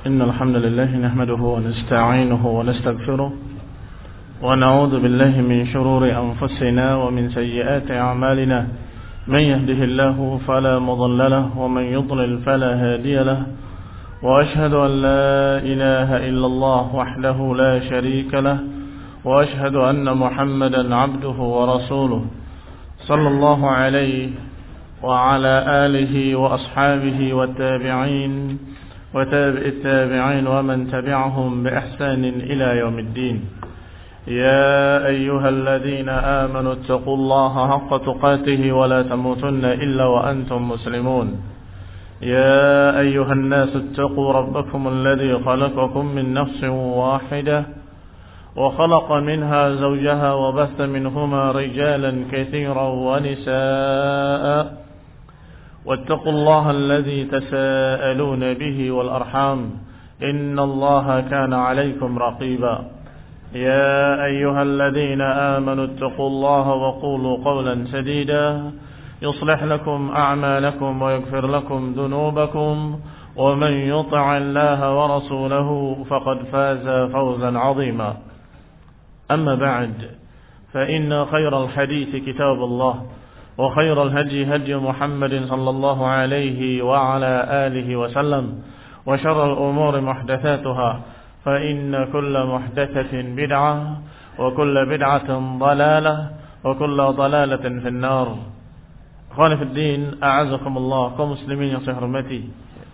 إن الحمد لله نحمده ونستعينه ونستغفره ونعوذ بالله من شرور أنفسنا ومن سيئات أعمالنا من يهده الله فلا مضل له ومن يضلل فلا هادي له وأشهد أن لا إله إلا الله وحده لا شريك له وأشهد أن محمدا عبده ورسوله صلى الله عليه وعلى آله وأصحابه والتابعين وتابع التابعين ومن تبعهم بإحسان إلى يوم الدين. يا أيها الذين آمنوا اتقوا الله حق تقاته ولا تموتن إلا وأنتم مسلمون. يا أيها الناس اتقوا ربكم الذي خلقكم من نفس واحدة وخلق منها زوجها وبث منهما رجالا كثيرا ونساء واتقوا الله الذي تساءلون به والأرحام إن الله كان عليكم رقيبا. يا أيها الذين آمنوا اتقوا الله وقولوا قولا سديدا يصلح لكم أعمالكم ويغفر لكم ذنوبكم ومن يطع الله ورسوله فقد فاز فوزا عظيما. أما بعد فإن خير الحديث كتاب الله وخير الهدي هدي محمد صلى الله عليه وعلى آله وسلم وشر الأمور محدثاتها فإن كل محدثة بدعة وكل بدعة ضلالة وكل ضلالة في النار. Akhwani fi din, a'azakumullah, kaum muslimin yang saya hormati.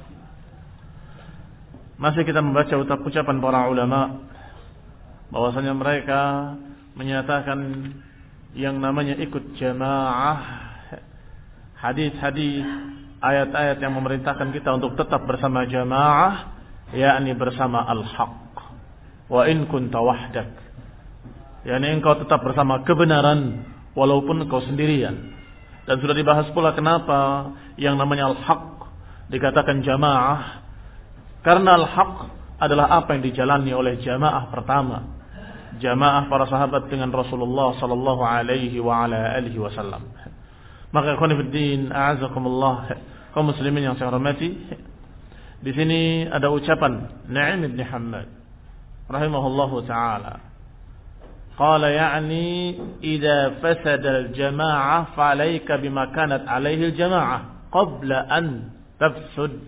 Masih kita membaca ucapan para ulama bahwasanya mereka menyatakan yang namanya ikut jamaah, hadis-hadis, ayat-ayat yang memerintahkan kita untuk tetap bersama jamaah, yakni bersama al-haq. Wa in kunta wahdak, yakni engkau tetap bersama kebenaran walaupun engkau sendirian. Dan sudah dibahas pula kenapa yang namanya al-haq dikatakan jamaah, karena al-haq adalah apa yang dijalani oleh jamaah pertama, jamaah para sahabat dengan Rasulullah sallallahu alaihi wa ala alihi wasallam. Maka ikhwan fillah, a'azakumullah, kaum muslimin yang saya hormati, di sini ada ucapan Nu'aim bin Hammad rahimahullahu taala. Qala ya'ni idza fasada al-jama'ah fa 'alayka bima kanat 'alayhi al-jama'ah qabla an tafsud.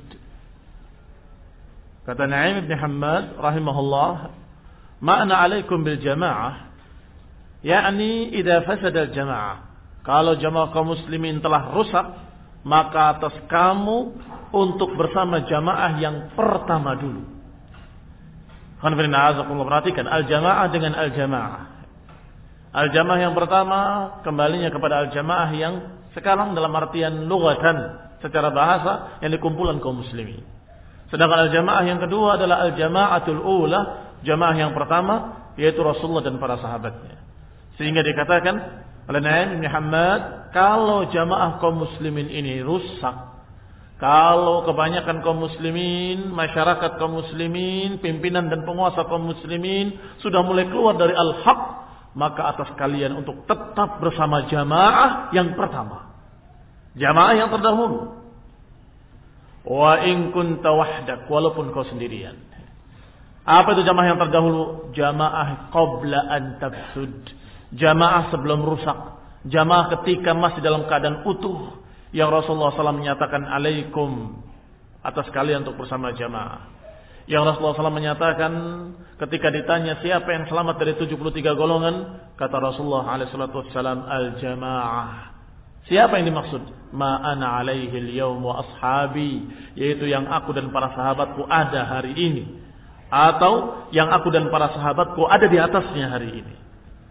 Kata Nu'aim bin Hammad rahimahullah, makna alaikum bil jamaah, yakni idza fasada al jamaah, kalau jamaah kaum muslimin telah rusak, maka atas kamu untuk bersama jamaah yang pertama dulu. Perhatikan al jamaah dengan al jamaah. Al jamaah yang pertama kembalinya kepada al jamaah yang sekarang dalam artian lughatan, secara bahasa, yang dikumpulan kaum muslimin. Sedangkan al jamaah yang kedua adalah al jamaatul ula, jamaah yang pertama, yaitu Rasulullah dan para sahabatnya. Sehingga dikatakan oleh Nu'aim bin Hammad, kalau jamaah kaum muslimin ini rusak, kalau kebanyakan kaum muslimin, masyarakat kaum muslimin, pimpinan dan penguasa kaum muslimin sudah mulai keluar dari al-haq, maka atas kalian untuk tetap bersama jamaah yang pertama, jamaah yang terdahulu. Wa in kunta wahdak, walaupun kau sendirian. Apa itu jamaah yang terdahulu? Jamaah qabla an tafsud, jamaah sebelum rusak, jamaah ketika masih dalam keadaan utuh, yang Rasulullah SAW menyatakan alaikum, atas kalian untuk bersama jamaah. Yang Rasulullah SAW menyatakan ketika ditanya siapa yang selamat dari 73 golongan, kata Rasulullah SAW, al-jamaah. Siapa yang dimaksud? Ma ana alaihi al-yawm wa ashabi, yaitu yang aku dan para sahabatku ada hari ini, atau yang aku dan para sahabatku ada di atasnya hari ini.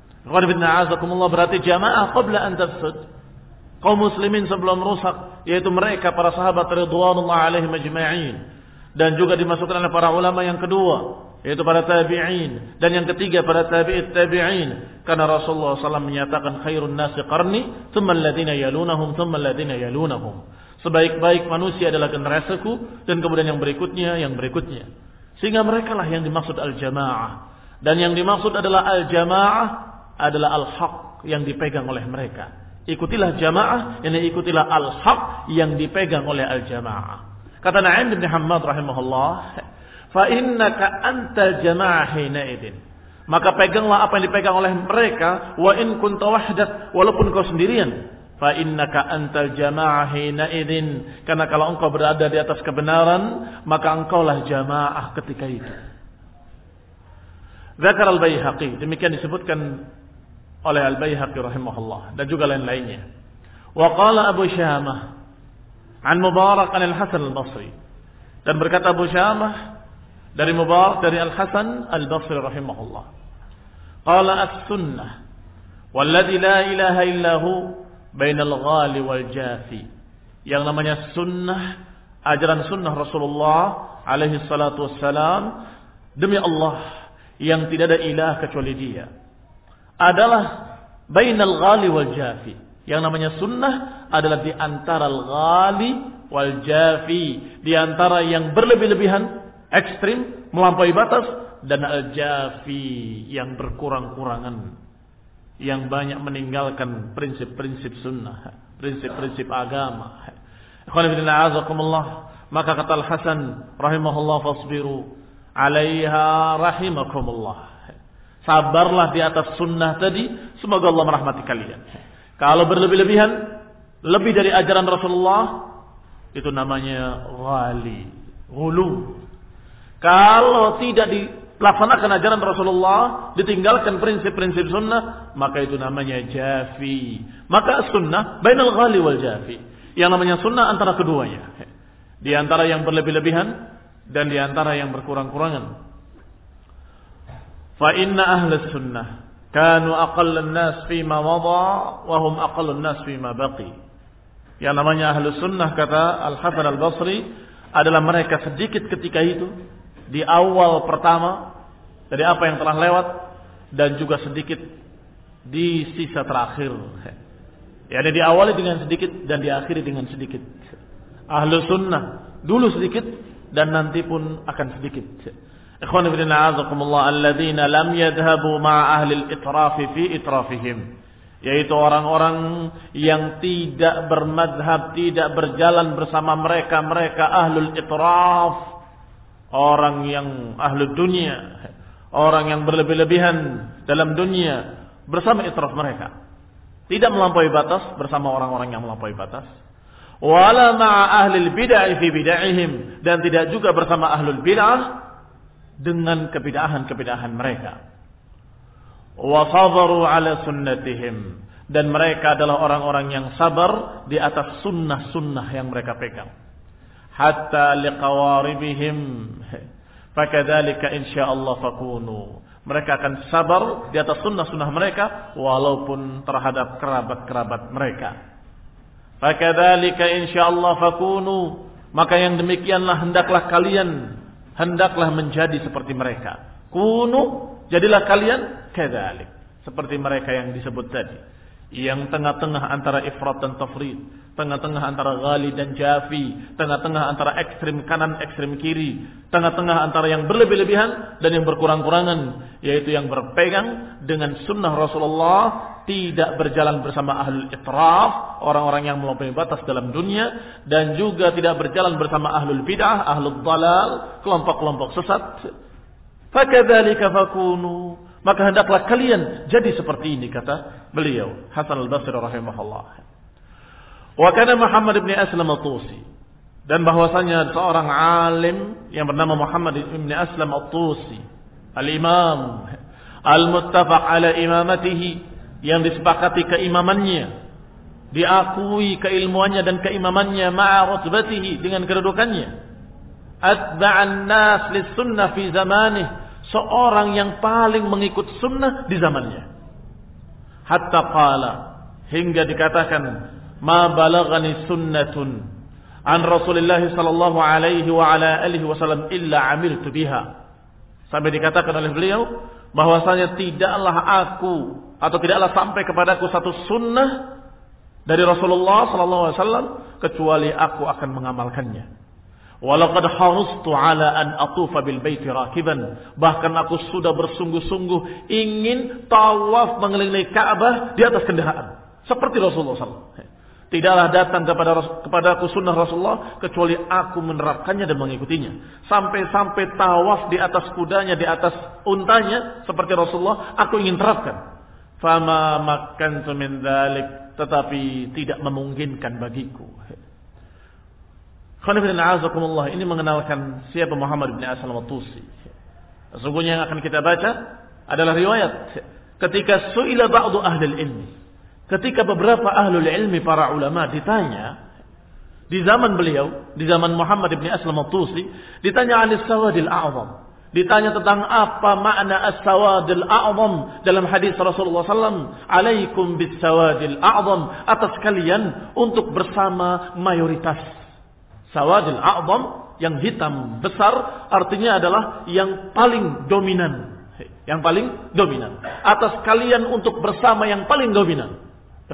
Berarti jamaah qabla an tafsud, kaum muslimin sebelum rusak, yaitu mereka para sahabat ridwanullah alaihim ajma'in, dan juga dimasukkan oleh para ulama yang kedua, yaitu para tabi'in, dan yang ketiga para tabi'it tabi'in. Karena Rasulullah SAW menyatakan khairun nasi qarni thumma alladhina yalunahum thumma alladhina yalunahum, sebaik-baik manusia adalah generasiku, dan kemudian yang berikutnya. Sehingga mereka lah yang dimaksud al-jamaah. Dan yang dimaksud adalah al-jamaah adalah al-haq yang dipegang oleh mereka. Ikutilah jamaah, yang ikutilah al-haq yang dipegang oleh al-jamaah. Kata Nu'aim bin Hammad rahimahullah, fa innaka antal jamaah hina idzin. Maka peganglah apa yang dipegang oleh mereka, wa in kunta wahdak, walaupun kau sendirian. Fa innaka antal jamaah hina idzin. Karena kalau engkau berada di atas kebenaran, maka engkaulah jamaah ketika itu. Dzakar al-Baihaqi, demikian disebutkan oleh al-Baihaqi rahimahullah dan juga lain-lainnya. Wa qala Abu Syamah an Mubarak an al-Hasan al-Basri, dan berkata Abu Syamah dari Mubarak dari Al-Hasan al-Basri rahimahullah, qala as-sunnah walladzi la ilaha illahu bainal ghali wal jafi. Yang namanya sunnah, ajaran sunnah Rasulullah alaihi salatu wassalam, demi Allah yang tidak ada ilah kecuali Dia, adalah bainal ghali wal jafi. Yang namanya sunnah adalah di antara al-ghali wal jafi, di antara yang berlebih-lebihan, ekstrim, melampaui batas, dan al-jafi, yang berkurang-kurangan, yang banyak meninggalkan prinsip-prinsip sunnah, prinsip-prinsip agama. Ikhwan fillah azakumullah, maka kata Al-Hasan rahimahullah, fasbiru 'alaiha rahimakumullah. Sabarlah di atas sunnah tadi, semoga Allah merahmati kalian. Kalau berlebih-lebihan, lebih dari ajaran Rasulullah, itu namanya ghali, ghulu. Kalau tidak dilaksanakan ajaran Rasulullah, ditinggalkan prinsip-prinsip sunnah, maka itu namanya jafi. Maka sunnah bainal ghali wal jafi. Yang namanya sunnah antara keduanya. Di antara yang berlebih-lebihan dan di antara yang berkurang-kurangan. Fa inna ahlus sunnah kanu aqallan nas fima madha wa hum aqallun nas fima baqi. Yang namanya ahlus sunnah, kata Al-Hasan al-Basri, adalah mereka sedikit ketika itu, di awal pertama dari apa yang telah lewat, dan juga sedikit di sisa terakhir. Yani diawali dengan sedikit dan diakhiri dengan sedikit. Ahlus sunnah dulu sedikit dan nanti pun akan sedikit. Ikhwan fillah azakumullah, alladzina lam yadhhabu ma'a ahli al-itraf fi itrafihim, yaitu orang-orang yang tidak bermadhab, tidak berjalan bersama mereka ahlul itraf, orang yang ahlul dunia, orang yang berlebih-lebihan dalam dunia bersama itraf mereka, tidak melampaui batas bersama orang-orang yang melampaui batas. Wala ma'a ahlil bid'ah fi bid'ahihim, dan tidak juga bersama ahlul bid'ah dengan kebidahan-kebidahan mereka. Wa sabaru ala sunnatihim, dan mereka adalah orang-orang yang sabar di atas sunnah-sunnah yang mereka pegang. Hatta liqawaribihim fakadzalika insyaallah fakunu. Mereka akan sabar di atas sunnah-sunnah mereka walaupun terhadap kerabat-kerabat mereka. Fakadzalika insyaallah fakunu, maka yang demikianlah hendaklah kalian, hendaklah menjadi seperti mereka. Kunu, jadilah kalian kadzalik, seperti mereka yang disebut tadi, yang tengah-tengah antara ifrat dan tafrid, tengah-tengah antara ghali dan jafi, tengah-tengah antara ekstrim kanan ekstrim kiri, tengah-tengah antara yang berlebih-lebihan dan yang berkurang-kurangan, yaitu yang berpegang dengan sunnah Rasulullah, tidak berjalan bersama ahlul itraf, orang-orang yang melampaui batas dalam dunia, dan juga tidak berjalan bersama ahlul bid'ah, ahlul dalal, kelompok-kelompok sesat. Fakadzalika fakunu, maka hendaklah kalian jadi seperti ini, kata beliau Hasan al-Basri rahimahullah. Wa kana Muhammad ibn Aslam at-Tusi, dan bahwasanya seorang alim yang bernama Muhammad ibn Aslam at-Tusi, al-imam al-muttafaq ala imamatihi, yang disepakati keimamannya, diakui keilmuannya dan keimamannya, ma'a rutbatihi, dengan kedudukannya, atba'an nas lis sunnah fi zamanih, seorang yang paling mengikut sunnah di zamannya. Hatta qala, hingga dikatakan, ma balagani sunnatun an Rasulillah sallallahu alaihi wa ala alihi wasallam illa amiltu biha. Sampai dikatakan oleh beliau bahwasanya tidaklah aku atau tidaklah sampai kepadaku satu sunnah dari Rasulullah sallallahu alaihi wasallam kecuali aku akan mengamalkannya. Walaqad harustu ala an atufa bil baiti rakiban, bahkan aku sudah bersungguh-sungguh ingin tawaf mengelilingi Ka'bah di atas kendaraan seperti Rasulullah sallallahu alaihi wasallam. Tidaklah datang kepadaku sunnah Rasulullah kecuali aku menerapkannya dan mengikutinya. Sampai-sampai tawaf di atas kudanya, di atas untanya seperti Rasulullah, aku ingin terapkan. Fama makkantu min dzalik, tetapi tidak memungkinkan bagiku. Ini mengenalkan siapa Muhammad bin Aslam At-Tusi. Sesungguhnya yang akan kita baca adalah riwayat ketika su'ila ba'du ahlul ilmi. Ketika beberapa ahlul ilmi, para ulama ditanya di zaman beliau, di zaman Muhammad bin Aslam At-Tusi, ditanya anis sawadil a'zam. Ditanya tentang apa makna as-sawadil a'zam dalam hadis Rasulullah SAW. Alaikum bis sawadil a'zam, atas kalian untuk bersama mayoritas. Sawadil a'zam, yang hitam besar, artinya adalah yang paling dominan. Yang paling dominan. Atas kalian untuk bersama yang paling dominan.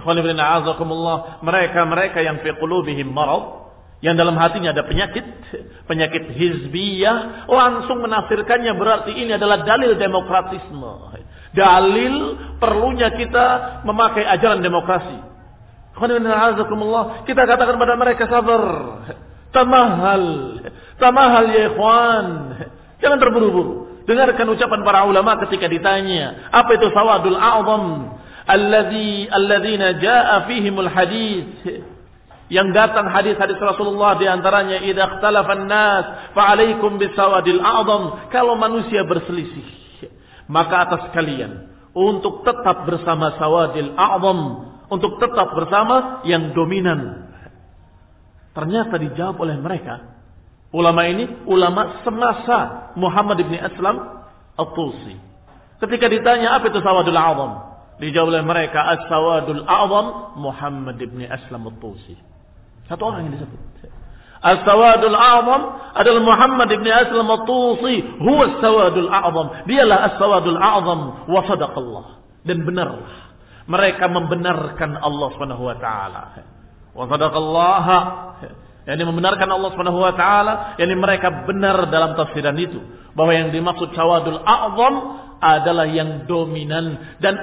Mereka yang fi qulubihim marad, yang dalam hatinya ada penyakit hizbiyah, langsung menafsirkannya berarti ini adalah dalil demokratisme. Dalil perlunya kita memakai ajaran demokrasi. Kita katakan pada mereka, sabar. Tamahal ya ikhwan. Jangan terburu-buru. Dengarkan ucapan para ulama ketika ditanya, apa itu sawadul a'zam? Alladzina jaa fihimul hadits, yang datang hadis-hadis Rasulullah, di antaranya idza ikhtalafan nas fa alaikum bisawadil a'zam. Kalau manusia berselisih, maka atas kalian untuk tetap bersama sawadil a'zam, untuk tetap bersama yang dominan. Ternyata dijawab oleh mereka. Ulama ini ulama semasa Muhammad bin Aslam At-Tusi. Ketika ditanya apa itu sawadul a'zam, dijawab oleh mereka, as-sawadul a'zam Muhammad bin Aslam At-Tusi. Satu orang yang disebut. As-sawadul a'zam adalah Muhammad bin Aslam At-Tusi, huwa as-sawadul a'zam. Dialah as-sawadul a'zam wa sadaqallah. Dan benarlah mereka membenarkan Allah Subhanahu wa taala. Wa sadaqallah, yakni membenarkan Allah Subhanahu wa taala, yakni mereka benar dalam tafsiran itu bahwa yang dimaksud sawadul a'zam adalah yang dominan. Dan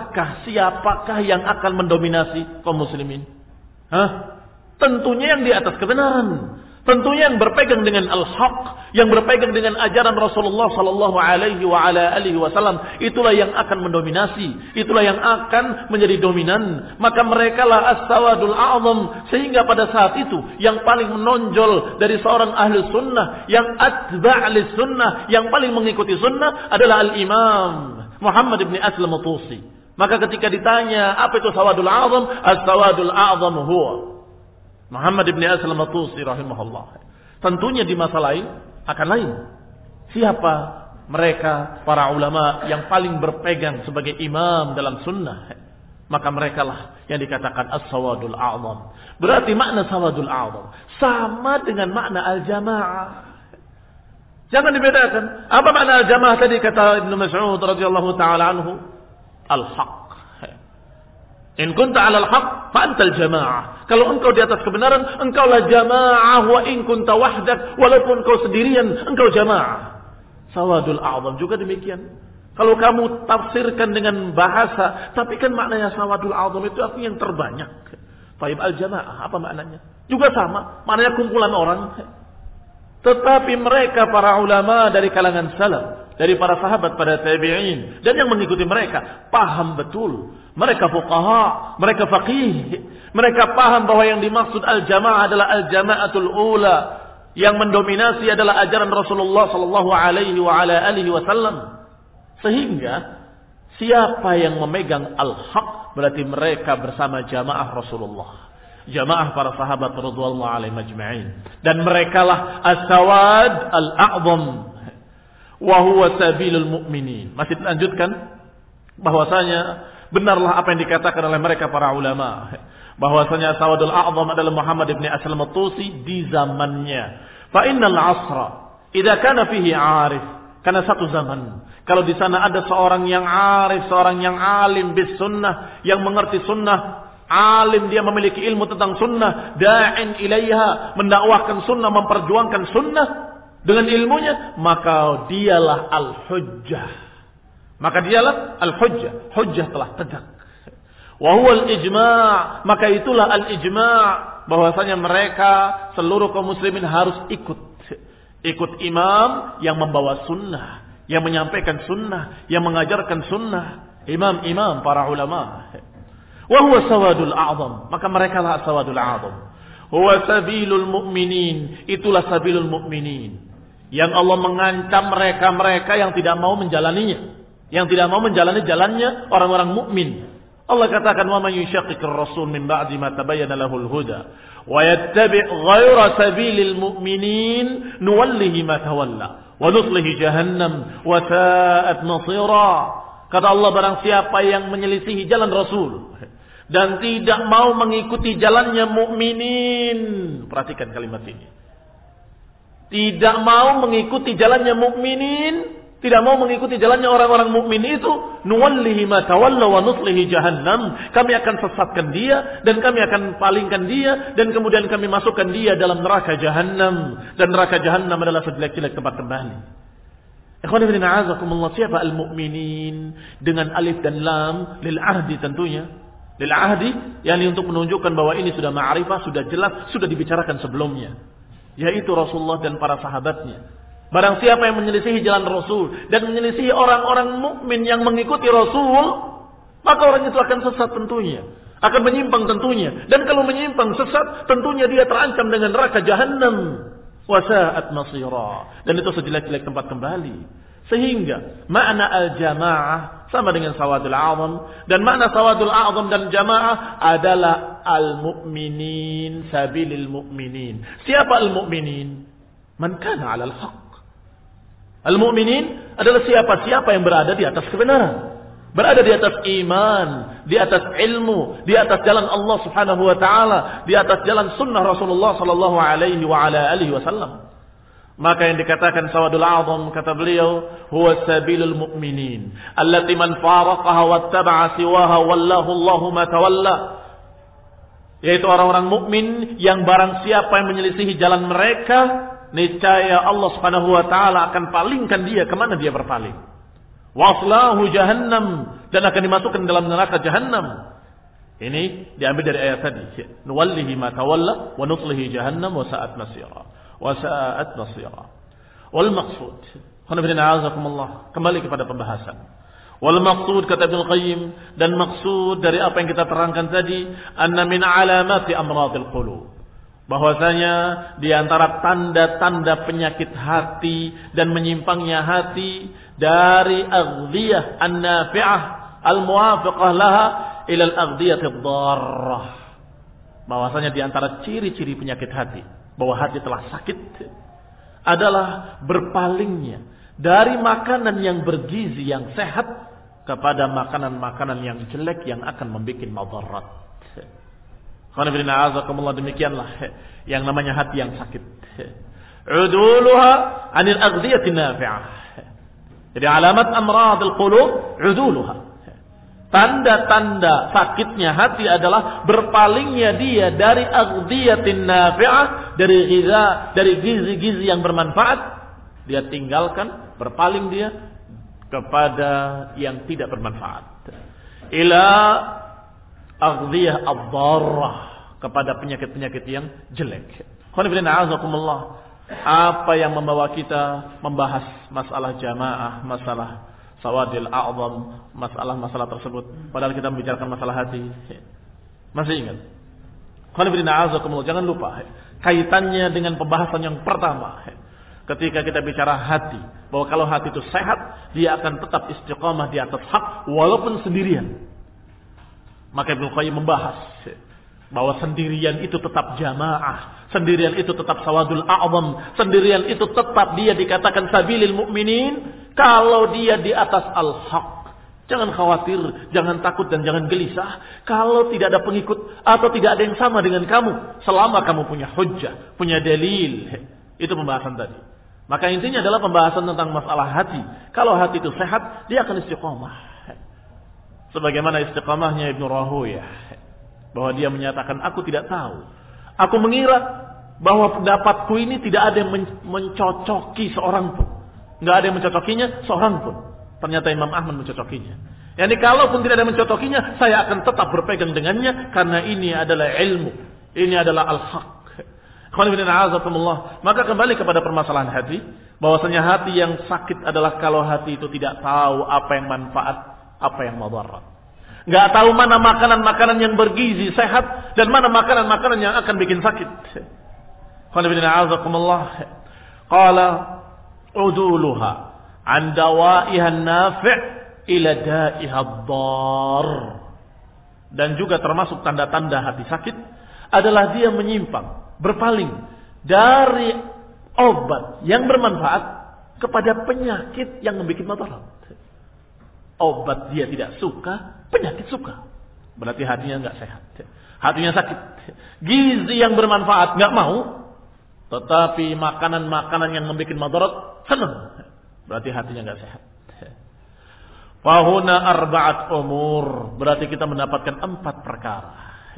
siapakah yang akan mendominasi kaum muslimin? Tentunya yang di atas kebenaran. Tentunya yang berpegang dengan al-haq, yang berpegang dengan ajaran Rasulullah sallallahu alaihi wa ala alihi wasallam, itulah yang akan mendominasi, itulah yang akan menjadi dominan. Maka merekalah as-sawadul a'zam, sehingga pada saat itu yang paling menonjol dari seorang ahli sunnah, yang atba' lis sunnah, yang paling mengikuti sunnah adalah al-imam Muhammad bin Aslam At-Tusi. Maka ketika ditanya apa itu sawadul a'zam, as-sawadul a'zam huwa Muhammad bin Aslam At-Tusi rahimahullah. Tentunya di masa lain akan lain. Siapa mereka para ulama yang paling berpegang sebagai imam dalam sunnah? Maka merekalah yang dikatakan as-sawadul a'zam. Berarti makna sawadul a'zam sama dengan makna al-jamaah. Jangan dibedakan. Apa makna al-jamaah tadi kata Ibnu Mas'ud radhiyallahu taala anhu? Al-haq. In kunta 'alal haq fa antal jamaah. Kalau engkau di atas kebenaran, engkaulah jamaah. Wa in kunta wahdak, walaupun kau sendirian, engkau jamaah. Sawadul a'zam juga demikian. Kalau kamu tafsirkan dengan bahasa, tapi kan maknanya sawadul a'zam itu artinya yang terbanyak. Taib al-jamaah, apa maknanya? Juga sama, maknanya kumpulan orang. Tetapi mereka para ulama dari kalangan salaf, dari para sahabat, para tabi'in, dan yang mengikuti mereka, paham betul. Mereka fuqaha, mereka faqih. Mereka paham bahwa yang dimaksud al-jamaah adalah al-jama'atul ula. Yang mendominasi adalah ajaran Rasulullah sallallahu alaihi wa ala alihi wasallam. Sehingga siapa yang memegang al-haq berarti mereka bersama jamaah Rasulullah. Jamaah para sahabat radhiyallahu alaihim ajma'in. Dan merekalah as-sawad al-a'zam. Wa huwa sabilul mu'minin. Masih dilanjutkan bahwasanya benarlah apa yang dikatakan oleh mereka para ulama, bahwasanya sawadul a'zam adalah Muhammad bin Aslam At-Tusi di zamannya. Fa innal 'asra idza kana fihi 'arif, karena satu zaman kalau di sana ada seorang yang 'arif, seorang yang alim bis sunnah, yang mengerti sunnah, alim, dia memiliki ilmu tentang sunnah, da'in ilaiha, mendakwahkan sunnah, memperjuangkan sunnah dengan ilmunya, maka dialah al-hujjah. Maka dialah al-hujjah. Hujjah telah tegak. Wa huwa al-ijma', maka itulah al-ijma', bahwasanya mereka seluruh kaum muslimin harus ikut imam yang membawa sunnah, yang menyampaikan sunnah, yang mengajarkan sunnah, imam-imam para ulama. Wa huwa sawadul a'zam, maka mereka lah sawadul a'zam. Huwa sabilul mu'minin, itulah sabilul mu'minin, yang Allah mengancam mereka-mereka yang tidak mau menjalaninya, yang tidak mau menjalani jalannya orang-orang mukmin. Allah katakan, wa man yushaqiqir rasul min ba'di ma tabayyana lahul huda wa yattabi' ghayra sabilil mu'minin nuwallihi ma tawalla wa nuslihi jahannam wa sa'at masira. Kata Allah, barang siapa yang menyelisihi jalan Rasul dan tidak mau mengikuti jalannya mukminin. Perhatikan kalimat ini. Tidak mau mengikuti jalannya mukminin, tidak mau mengikuti jalannya orang-orang mukmin itu, nuwallihi ma tawalla wa nuslihi jahannam. Kami akan sesatkan dia dan kami akan palingkan dia dan kemudian kami masukkan dia dalam neraka jahannam, dan neraka jahannam adalah sejelek-jelek tempat kembali. Ikhwan fillah, a'azakumullah, siapa al-mu'minin dengan alif dan lam lil ahdi tentunya. Lil ahdi, yakni untuk menunjukkan bahwa ini sudah ma'rifah, sudah jelas, sudah dibicarakan sebelumnya, yaitu Rasulullah dan para sahabatnya. Barang siapa yang menyelisihi jalan Rasul dan menyelisihi orang-orang mukmin yang mengikuti Rasul, maka orang itu akan sesat tentunya, akan menyimpang tentunya. Dan kalau menyimpang sesat, tentunya dia terancam dengan neraka jahannam. Wa sa'at masira, dan itu sejelek-jelek tempat kembali. Sehingga makna al-jamaah sama dengan sawadul a'zam, dan makna sawadul a'zam dan jamaah adalah al-mu'minin, sabilil mu'minin. Siapa al-mu'minin? Man kana 'alal haqq. Al-mu'minin adalah siapa yang berada di atas kebenaran, berada di atas iman, di atas ilmu, di atas jalan Allah Subhanahu wa taala, di atas jalan sunnah Rasulullah sallallahu alaihi wa ala alihi wasallam. Maka yang dikatakan sawadul a'zam, kata beliau, huwa sabilul mu'minin allati man faraqaha wattaba'a siwaha wallahu Allahu ma tawalla, yaitu orang-orang mukmin yang barang siapa yang menyelisihi jalan mereka, niscaya Allah Subhanahu wa taala akan palingkan dia kemana dia berpaling. Waslahu jahannam, dan akan dimasukkan dalam neraka jahannam. Ini diambil dari ayat tadi, nuwallihi ma tawalla wa nuslihi jahannam wa sa'at masira. Wasa'at nasira. Wal maqsud, kembali kepada pembahasan. Wal maqsud, kata Ibnu Qayyim, dan maksud dari apa yang kita terangkan tadi, anna min alamati amradil qulub, bahwasanya di antara tanda-tanda penyakit hati dan menyimpangnya hati dari aghdiyah an-nafi'ah al-muwafiqah laha ila al-aghdiyah ad-darrah, bahwasanya di antara ciri-ciri penyakit hati bahwa hati telah sakit adalah berpalingnya dari makanan yang bergizi, yang sehat, kepada makanan-makanan yang jelek yang akan membuat madarat. Demikianlah yang namanya hati yang sakit. Uduluha anil aghdiyati nafi'ah. Jadi alamat amradil qulub uduluha. Tanda-tanda sakitnya hati adalah berpalingnya dia dari aghdhiyatin nafi'ah, dari gizi-gizi yang bermanfaat, dia tinggalkan, berpaling dia kepada yang tidak bermanfaat. Ila aghdhiyah ad-darrah, kepada penyakit-penyakit yang jelek. Apa yang membawa kita membahas masalah jamaah, masalah sawadil a'zam, masalah-masalah tersebut, padahal kita membicarakan masalah hati? Masih ingat? Jangan lupa kaitannya dengan pembahasan yang pertama. Ketika kita bicara hati, bahwa kalau hati itu sehat, dia akan tetap istiqamah di atas hak walaupun sendirian. Maka Ibnu Qayyim membahas bahwa sendirian itu tetap jamaah, sendirian itu tetap sawadul a'zam, sendirian itu tetap dia dikatakan sabilil mu'minin kalau dia di atas al-haq. Jangan khawatir, jangan takut, dan jangan gelisah kalau tidak ada pengikut atau tidak ada yang sama dengan kamu, selama kamu punya hujjah, punya dalil. Itu pembahasan tadi. Maka intinya adalah pembahasan tentang masalah hati. Kalau hati itu sehat, dia akan istiqamah. Sebagaimana istiqamahnya Ibnu Rahuyah, bahwa dia menyatakan, aku tidak tahu, aku mengira bahwa pendapatku ini tidak ada yang mencocoki seorang pun, nggak ada yang mencocokinya seorang pun. Ternyata Imam Ahmad mencocokinya. Yani kalaupun tidak ada yang mencocokinya, saya akan tetap berpegang dengannya karena ini adalah ilmu, ini adalah al-haq. Maka kembali kepada permasalahan hati, bahwasanya hati yang sakit adalah kalau hati itu tidak tahu apa yang manfaat, apa yang mudarat. Enggak tahu mana makanan-makanan yang bergizi sehat dan mana makanan-makanan yang akan bikin sakit. Qala uduluha an dawa'iha an-nafi' ila da'iha ad-dar. Dan juga termasuk tanda-tanda hati sakit adalah dia menyimpang, berpaling dari obat yang bermanfaat kepada penyakit yang membuat madarat. Obat dia tidak suka, penyakit suka. Berarti hatinya enggak sehat. Hatinya sakit. Gizi yang bermanfaat enggak mau, tetapi makanan-makanan yang membuat madarat senang. Berarti hatinya enggak sehat. Fahuna arba'at umur. Berarti kita mendapatkan 4 perkara.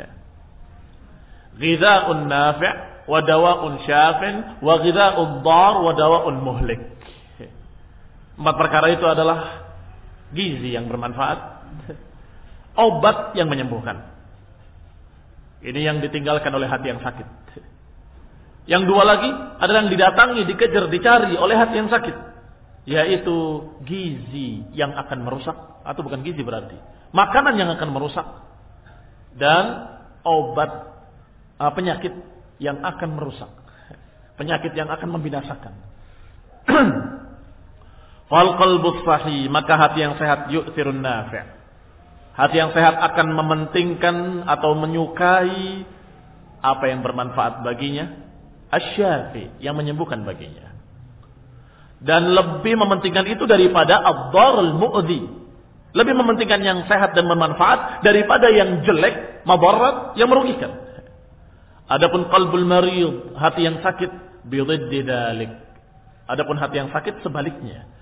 Ghidha'un nafi' wa dawa'un syafin wa ghidha'ud dar wa dawa'un muhlik. 4 perkara itu adalah gizi yang bermanfaat, obat yang menyembuhkan. Ini yang ditinggalkan oleh hati yang sakit. Yang 2 lagi adalah yang didatangi, dikejar, dicari oleh hati yang sakit, yaitu gizi yang akan merusak, atau bukan gizi berarti makanan yang akan merusak, dan obat penyakit yang akan merusak, penyakit yang akan membinasakan. Fal qalbus sahih, maka hati yang sehat yu'thirun nafi'. Hati yang sehat akan mementingkan atau menyukai apa yang bermanfaat baginya, asy-syafi, yang menyembuhkan baginya. Dan lebih mementingkan itu daripada ad-darul mu'dhi. Lebih mementingkan yang sehat dan bermanfaat daripada yang jelek, madarat, yang merugikan. Adapun qalbul marid, hati yang sakit, bididdi dzalik. Adapun hati yang sakit sebaliknya.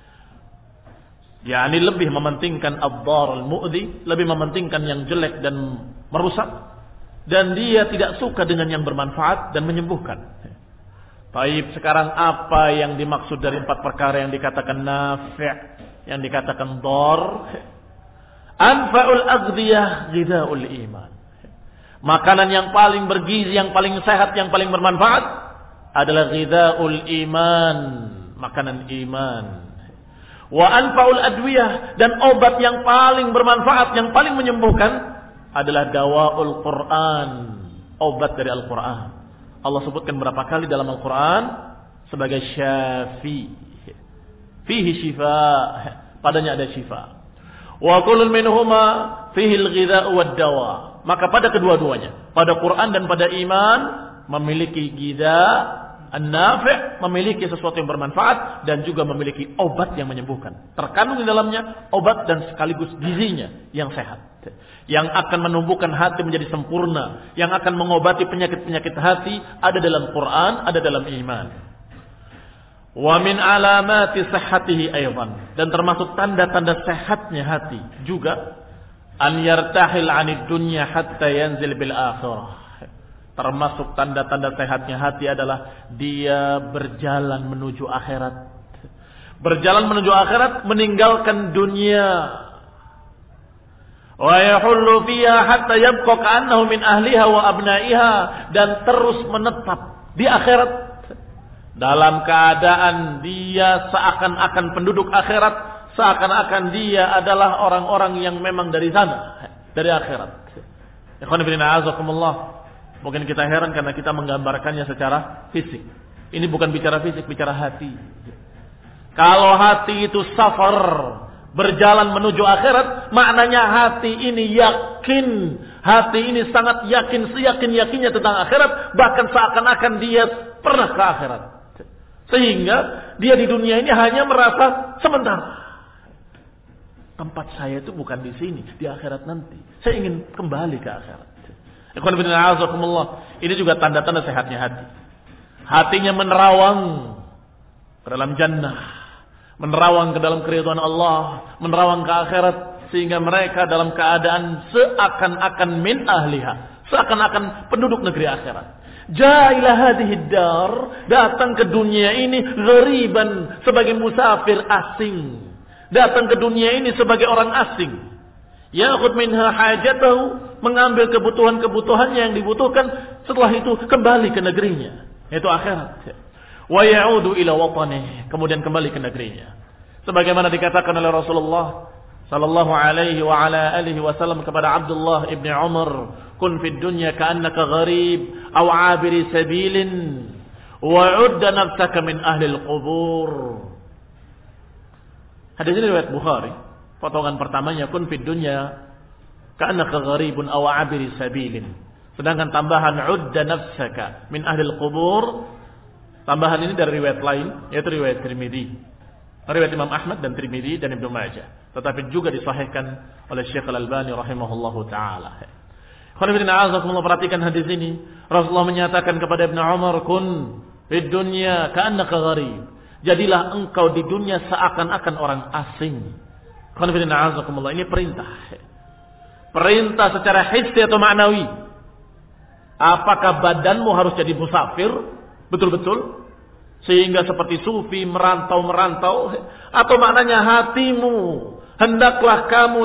yakni lebih mementingkan ad-darul mu'dhi, lebih mementingkan yang jelek dan merusak, dan dia tidak suka dengan yang bermanfaat dan menyembuhkan. Baik, sekarang apa yang dimaksud dari 4 perkara yang dikatakan nafi', yang dikatakan dar? Anfa'ul aghdiyah ghidha'ul iman. Makanan yang paling bergizi, yang paling sehat, yang paling bermanfaat adalah ghidha'ul iman, makanan iman. Wa anfa'ul adwiyah, dan obat yang paling bermanfaat, yang paling menyembuhkan adalah dawaul Quran, obat dari Al-Quran. Allah sebutkan berapa kali dalam Al-Quran sebagai syafi, fihi shifa, padanya ada shifa. Wa kullun minhuma fihi al-ghidha' wad-dawa. Maka pada kedua-duanya, pada Quran dan pada iman, memiliki ghidha' an-nafi', memiliki sesuatu yang bermanfaat, dan juga memiliki obat yang menyembuhkan. Terkandung di dalamnya obat dan sekaligus gizinya yang sehat, yang akan menumbuhkan hati menjadi sempurna, yang akan mengobati penyakit-penyakit hati, ada dalam Quran, ada dalam iman. Wa min alamati sihhatihi aydan, dan termasuk tanda-tanda sehatnya hati juga, an yartahil 'anid dunya hatta yanzil bil akhirah. Termasuk tanda-tanda sehatnya hati adalah dia berjalan menuju akhirat. Berjalan menuju akhirat, meninggalkan dunia. Wa yahullu fiha hatta yabqa ka'annahu min ahliha wa abna'iha, dan terus menetap di akhirat dalam keadaan dia seakan-akan penduduk akhirat, seakan-akan dia adalah orang-orang yang memang dari sana, dari akhirat. Ikhwan fillah, azakumullah. Mungkin kita heran karena kita menggambarkannya secara fisik. Ini bukan bicara fisik, bicara hati. Kalau hati itu safar, berjalan menuju akhirat, maknanya hati ini yakin. Hati ini sangat yakin, seyakin-yakinnya tentang akhirat, bahkan seakan-akan dia pernah ke akhirat. Sehingga dia di dunia ini hanya merasa sementara. Tempat saya itu bukan di sini, di akhirat nanti. Saya ingin kembali ke akhirat. Ini juga tanda-tanda sehatnya hati. Hatinya menerawang ke dalam jannah, menerawang ke dalam keridhaan Allah, menerawang ke akhirat, sehingga mereka dalam keadaan seakan-akan min ahliha, seakan-akan penduduk negeri akhirat. Ja'ila hadhihi dar, datang ke dunia ini ghariban, sebagai musafir asing. Datang ke dunia ini sebagai orang asing. Ya'khudh minha hajatahu, mengambil kebutuhan-kebutuhannya yang dibutuhkan, setelah itu kembali ke negerinya, yaitu akhirat. Wa ya'udu ila watanihi, kemudian kembali ke negerinya. Sebagaimana dikatakan oleh Rasulullah sallallahu alaihi wa ala alihi wasallam kepada Abdullah ibn Umar, kun fid dunya ka'annaka gharib aw 'abiri sabilin wa 'udda nafsaka min ahli al-qubur. Hadis ini riwayat Bukhari. Potongan pertamanya, kun fid dunya ka'annaka gharibun aw 'abiri sabilin. Sedangkan tambahan 'udda nafsaka min ahli al-qubur, tambahan ini dari riwayat lain, yaitu riwayat Tirmidzi. Riwayat Imam Ahmad dan Tirmidzi dan Ibnu Majah, tetapi juga disahihkan oleh Syekh Al-Albani rahimahullahu taala. Perhatikan hadis ini. Rasulullah menyatakan kepada Ibnu Umar, kun fid dunya ka'annaka gharib. Jadilah engkau di dunia seakan-akan orang asing. Ini perintah. Perintah secara hissi atau ma'nawi. Apakah badanmu harus jadi musafir? Betul-betul? Sehingga seperti sufi merantau-merantau, atau maknanya hatimu hendaklah kamu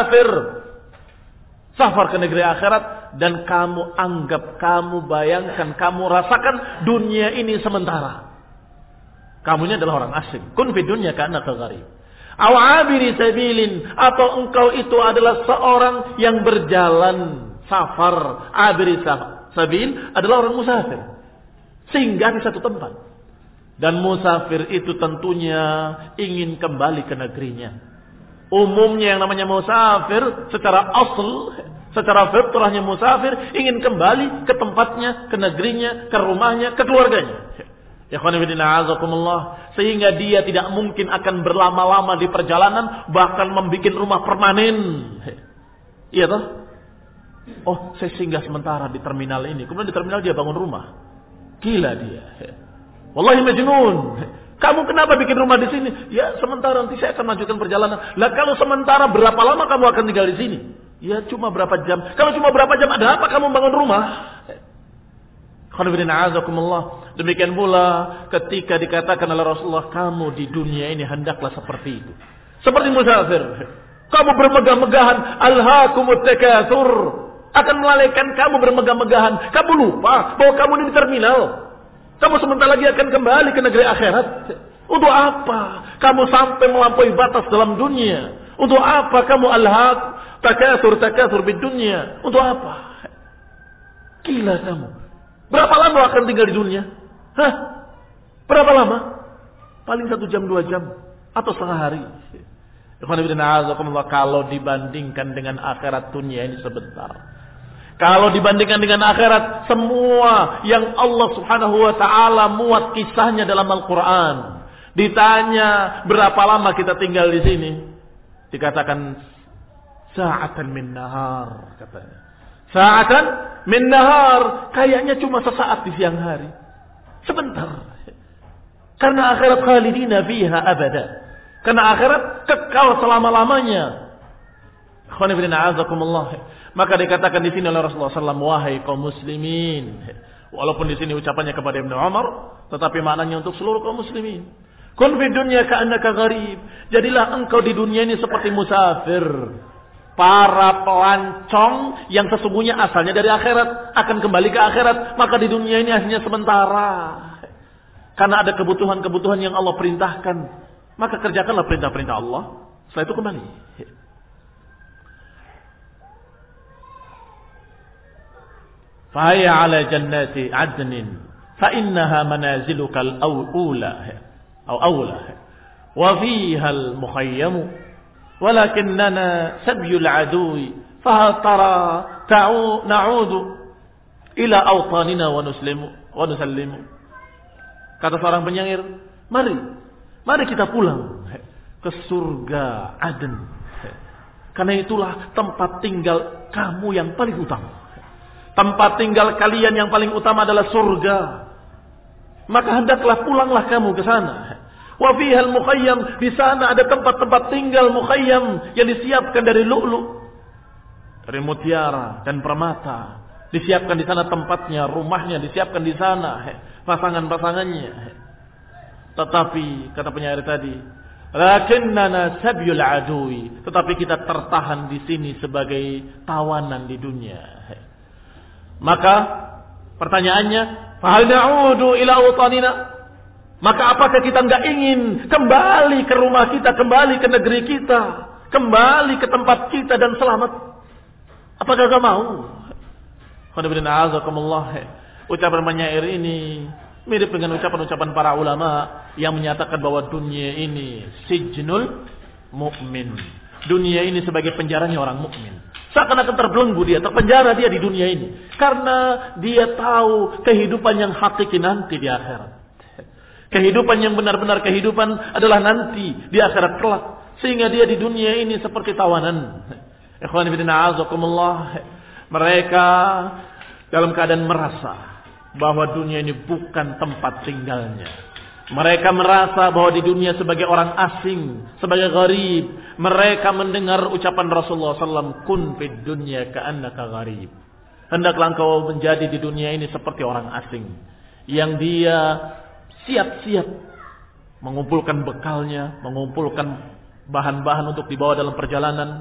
safar ke negeri akhirat, dan kamu anggap, kamu bayangkan, kamu rasakan dunia ini sementara. Kamunya adalah orang asing. Kun fid dunya ka'annaka gharib aw 'abiri sabilin, atau engkau itu adalah seorang yang berjalan safar. 'Abiri sabil adalah orang musafir, singgah di satu tempat. Dan musafir itu tentunya ingin kembali ke negerinya. Umumnya yang namanya musafir secara asal, secara fitrahnya musafir ingin kembali ke tempatnya, ke negerinya, ke rumahnya, ke keluarganya. Ya khonifidina, sehingga dia tidak mungkin akan berlama-lama di perjalanan, bahkan membuat rumah permanen. Iya toh? Oh, saya singgah sementara di terminal ini, kemudian di terminal dia bangun rumah. Gila dia. Wallahi majnun. Kamu kenapa bikin rumah di sini? Ya sementara, nanti saya akan lanjutkan perjalanan. Lah kalau sementara, berapa lama kamu akan tinggal di sini? Ya cuma berapa jam. Kalau cuma berapa jam, ada apa kamu bangun rumah? Demikian pula ketika dikatakan oleh Rasulullah, kamu di dunia ini hendaklah seperti itu, seperti musafir. Kamu bermegah-megahan, alhaakumut takatsur, akan melalaikan kamu bermegah-megahan. Kamu lupa bahwa kamu ini di terminal. Kamu sebentar lagi akan kembali ke negeri akhirat. Untuk apa kamu sampai melampaui batas dalam dunia? Untuk apa kamu alhaq takatsur bid dunya? Untuk apa? Gila kamu. Berapa lama akan tinggal di dunia? Hah? Berapa lama? Paling 1 jam 2 jam atau setengah hari. Kalau dibandingkan dengan akhirat, dunia ini sebentar. Kalau dibandingkan dengan akhirat, semua yang Allah Subhanahu wa taala muat kisahnya dalam Al-Qur'an. Ditanya berapa lama kita tinggal di sini? Dikatakan sa'atan min nahar, katanya. Sa'atan min nahar, kayaknya cuma sesaat di siang hari. Sebentar. Karena akhirat khalidina fiha abada. Karena akhirat kekal selama-lamanya. Khonifidina azakumullah. Maka dikatakan di sini oleh Rasulullah SAW, wahai kaum muslimin. Walaupun di sini ucapannya kepada Ibnu Umar, tetapi maknanya untuk seluruh kaum muslimin. Kun fid dunya ka'annaka gharib. Jadilah engkau di dunia ini seperti musafir. Para pelancong yang sesungguhnya asalnya dari akhirat akan kembali ke akhirat, maka di dunia ini hanya sementara. Karena ada kebutuhan-kebutuhan yang Allah perintahkan, maka kerjakanlah perintah-perintah Allah. Setelah itu kembali. Fahaya ala jannati adnin fa innaha manaziluka al-awla wa fiha al-mukhayyam walakinnana sabyul adui fa tara na'udu ila awtanina wa nusallimu. Kata seorang penyair, mari kita pulang ke surga Aden, karena itulah tempat tinggal kamu yang paling utama. Tempat tinggal kalian yang paling utama adalah surga. Maka hendaklah pulanglah kamu ke sana. Wa fihal mukhayyam, di sana ada tempat-tempat tinggal mukhayyam yang disiapkan dari lu'lu', dari mutiara dan permata. Disiapkan di sana tempatnya, rumahnya disiapkan di sana, pasangan-pasangannya. Tetapi kata penyair tadi, Lakinnana sabyul adui, tetapi kita tertahan di sini sebagai tawanan di dunia. Maka pertanyaannya, fahal na'udu ila utanina? Maka apakah kita enggak ingin kembali ke rumah kita, kembali ke negeri kita, kembali ke tempat kita dan selamat? Apakah enggak mau? Ucapan penyair ini mirip dengan ucapan-ucapan para ulama yang menyatakan bahwa dunia ini sijnul mukmin. Dunia ini sebagai penjaranya orang mukmin. Seakan-akan terbelenggu dia, terpenjara dia di dunia ini. Karena dia tahu kehidupan yang hakiki nanti di akhirat. Kehidupan yang benar-benar kehidupan adalah nanti di akhirat kelak. Sehingga dia di dunia ini seperti tawanan. Ikhwan fillah azakumullah. Mereka dalam keadaan merasa bahwa dunia ini bukan tempat tinggalnya. Mereka merasa bahwa di dunia sebagai orang asing, sebagai gharib. Mereka mendengar ucapan Rasulullah SAW, kun fid dunya ka'annaka gharib. Hendaklah engkau menjadi di dunia ini seperti orang asing. Yang dia siap-siap mengumpulkan bekalnya, mengumpulkan bahan-bahan untuk dibawa dalam perjalanan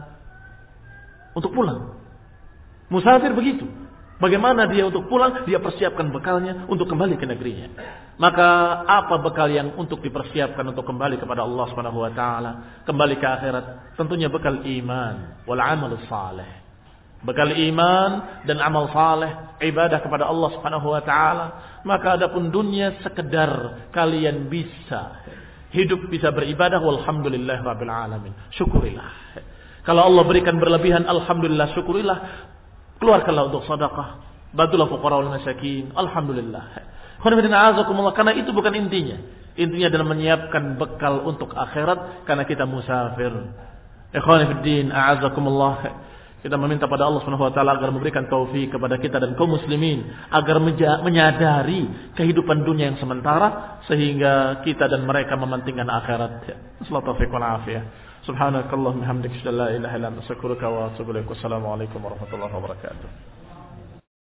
untuk pulang. Musafir begitu. Bagaimana dia untuk pulang? Dia persiapkan bekalnya untuk kembali ke negerinya. Maka apa bekal yang untuk dipersiapkan untuk kembali kepada Allah Subhanahu wa taala, kembali ke akhirat? Tentunya bekal iman wal amal saleh. Bekal iman dan amal saleh, ibadah kepada Allah Subhanahu wa taala. Maka adapun dunia sekedar kalian bisa hidup, bisa beribadah, walhamdulillah rabbil alamin. Syukurilah. Kalau Allah berikan berlebihan, alhamdulillah, syukurilah. Keluarkanlah untuk sedekah, bantulah fuqara wal masakin. Alhamdulillah. Karena itu bukan intinya. Intinya adalah menyiapkan bekal untuk akhirat karena kita musafir. Ikhwani fid din, a'azakumullah. Kita meminta pada Allah Subhanahu wa taala agar memberikan taufik kepada kita dan kaum muslimin agar menyadari kehidupan dunia yang sementara sehingga kita dan mereka mementingkan akhirat. Sallallahu alaihi wasallam. Subhanakallahumma hamdika, la ilaha illa anta, astaghfiruka wa atubu ilaik. Wassalamu alaikum warahmatullahi wabarakatuh.